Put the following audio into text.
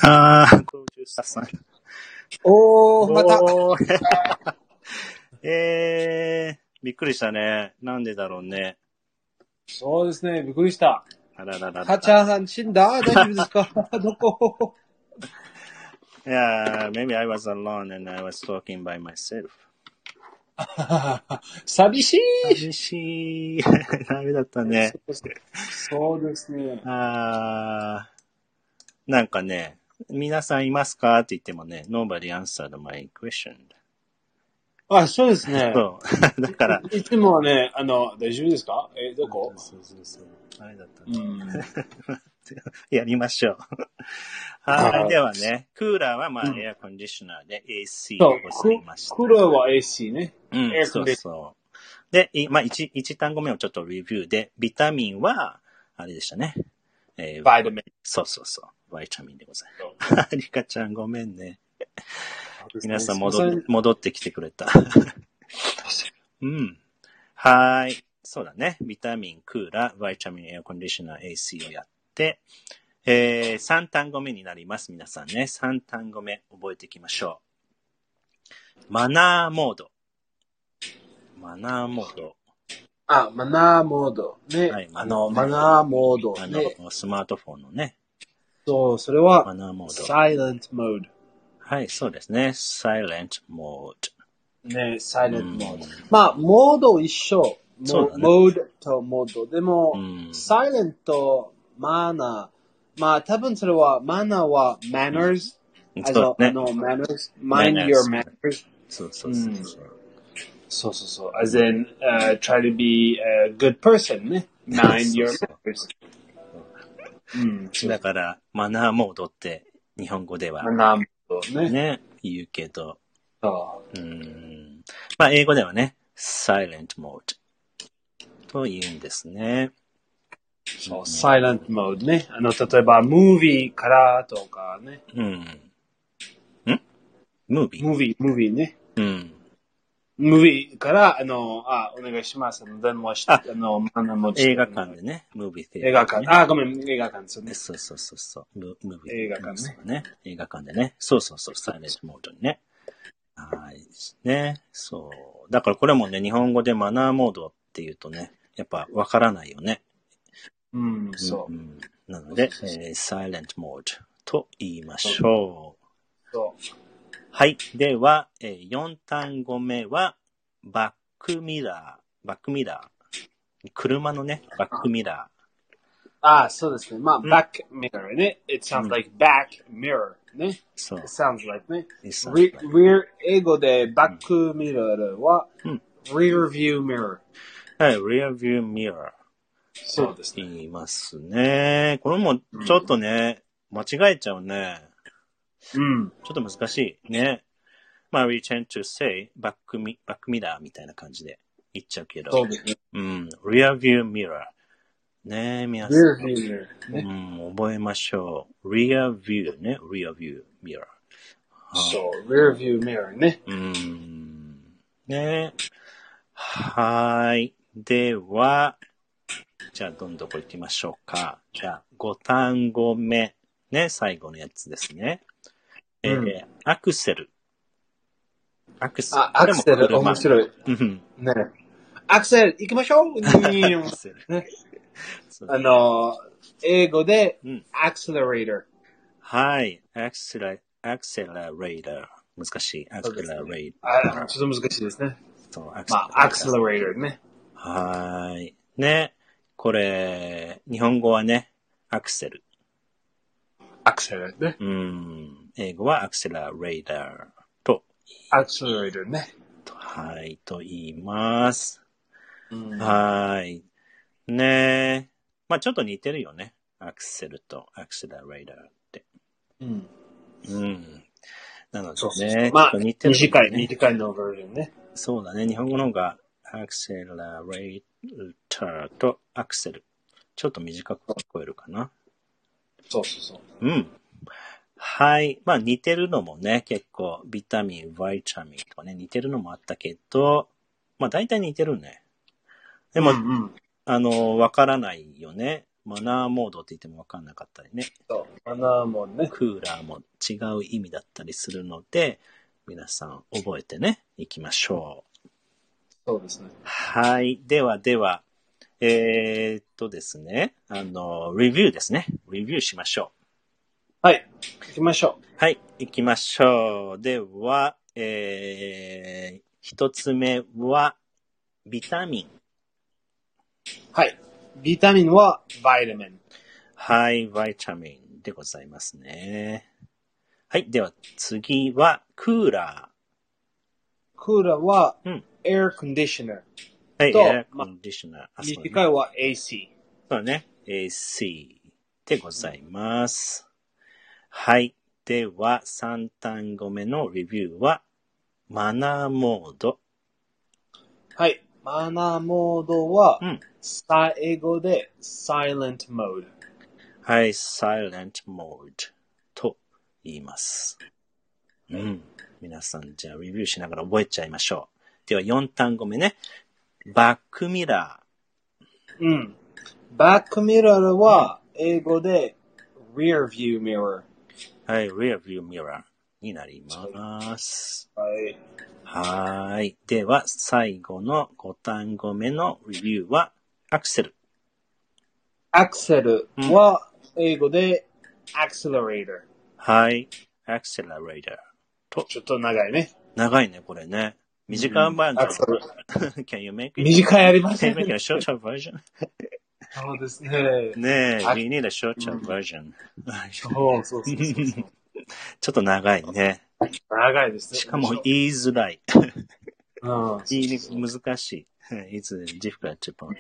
プロデューサーさん。 また。 びっくりしたね。なんでだろうね。 そうですね、びっくりした。 あらららら。 はちゃん死んだ？大丈夫ですか？どこ ？Yeah, maybe I was alone and I was talking by myself. 寂しい。 寂しい。ダメだったね。 そうですね。 なんかね、皆さんいますかって言ってもね、nobody answered my question. そうですね。 そう。だから。 いつもはね、大丈夫ですか？どこ？ そう。あれだったね。やりましょう。はい。ではね、クーラーはエアコンディショナーで AC でございました。 クーラーは AC ね。 そう。で、1単語目をちょっとレビューで、ビタミンは、あれでしたね。 バイタミン。 そう。バイタミンでございます。リカちゃんごめんね。皆さん戻ってきてくれた。はい。そうだね。ビタミン、クーラー、バイタミン、エアコンディショナー、AC をやって、3単語目になります。皆さんね。3単語目覚えていきましょう。マナーモード。マナーモード。 ね。 はい、 マナーモード。ね。 スマートフォンのね。 そう、それは、 マナーモード。 silent mode。 はい、そうですね。silent mode。 ね、silent mode。モード一緒。 そうだね。 モードとモード。でも、silent とマナー。多分それは、マナーは manners。 そうね。 manners。mind your manners。 そう。 そう。as in, try to be a good person ね。mind your manners。 だから、マナーモードって日本語では、 マナーモードね、言うけど、英語ではね、silent mode と言うんですね。 そう、silent mode ね。例えば、movie からとかね。movie ね。movie から、お願いします。電話して、 映画館でね、movie theater。 映画館。ごめん、映画館ですね。 そう。movie 映画館ね。 映画館でね。そう、silent mode にね。はい。ね。そう。だからこれもね、日本語でマナーモードって言うとね、やっぱわからないよね。 そう。 なので、silent mode と言いましょう。 そう。 はい。では、4単語目は、バックミラー。車のね、バックミラー。そうですね。バックミラーね。It sounds like back mirror ね。そう。It sounds like ね。英語でバックミラーは、rear view mirror。 はい、rear view mirror。 そうですね。 言いますね。これもちょっとね、間違えちゃうね。ちょっと難しいね。we tend to say バックミラーみたいな感じで言っちゃうけど。 そうですね。 rear view mirror。ね、皆さん。 rear view mirror ね。 覚えましょう。rear view ね。rear view mirror。 そう、rear view mirror ね。 ね。はい。では、じゃあどんどん行きましょうか。じゃあ5単語目。ね、最後のやつですね。アクセル。アクセル、 面白い。ね。アクセル、行きましょう。英語で、accelerator。 はい。accelerator。難しい。accelerator。 ちょっと難しいですね。 そう、 accelerator ね。 はい。ね。これ、日本語はね、アクセル。 アクセルね。 英語はアクセラレーターと。 アクセラレーターね。 はい、と言います。はい。ねちょっと似てるよね。アクセルとアクセラレーターって。なのでね。 似てる、ね。短いのバージョンね。 そうだね。日本語の方がアクセラレーターとアクセル。ちょっと短く聞こえるかな。 そう。 はい。似てるのもね、結構、ビタミン、バイタミンとかね、似てるのもあったけど、大体似てるね。でも、わからないよね。 マナーモードって言ってもわかんなかったりね。 そう、マナーモードね。 クーラーも違う意味だったりするので、皆さん覚えてね、いきましょう。 そうですね。 はい。では、ですね。レビューですね。レビューしましょう。はい。行きましょう。 はい。行きましょう。では、一つ目は、ビタミン。 はい。ビタミンは、バイタミン。 はい、バイタミンでございますね。はい。では、次は、クーラー。クーラーは、エアコンディショナー。 はい、エアコンディショナー。 短いは AC。 そうね。AC でございます。はい。では、3単語目のレビューは、マナーモード。 はい。マナーモードは、英語で silent mode。 はい、silent mode と言います。皆さん、じゃあレビューしながら覚えちゃいましょう。では、4単語目ね。バックミラー。バックミラーは、英語で rear view mirror。 はい、rear view mirror になります。はい。では、最後の5単語目のレビューは、アクセル。 アクセルは、英語で accelerator。 はい、accelerator と。 ちょっと長いね。 長いね、これね。短いバージョン。Can you make it? 短いありますね。 Can you make it a shorter version? そうですね。 ねえ、we need a shorter version. そう。 ちょっと長いね。 長いですね。 しかも言いづらい。 難しい。 It's difficult to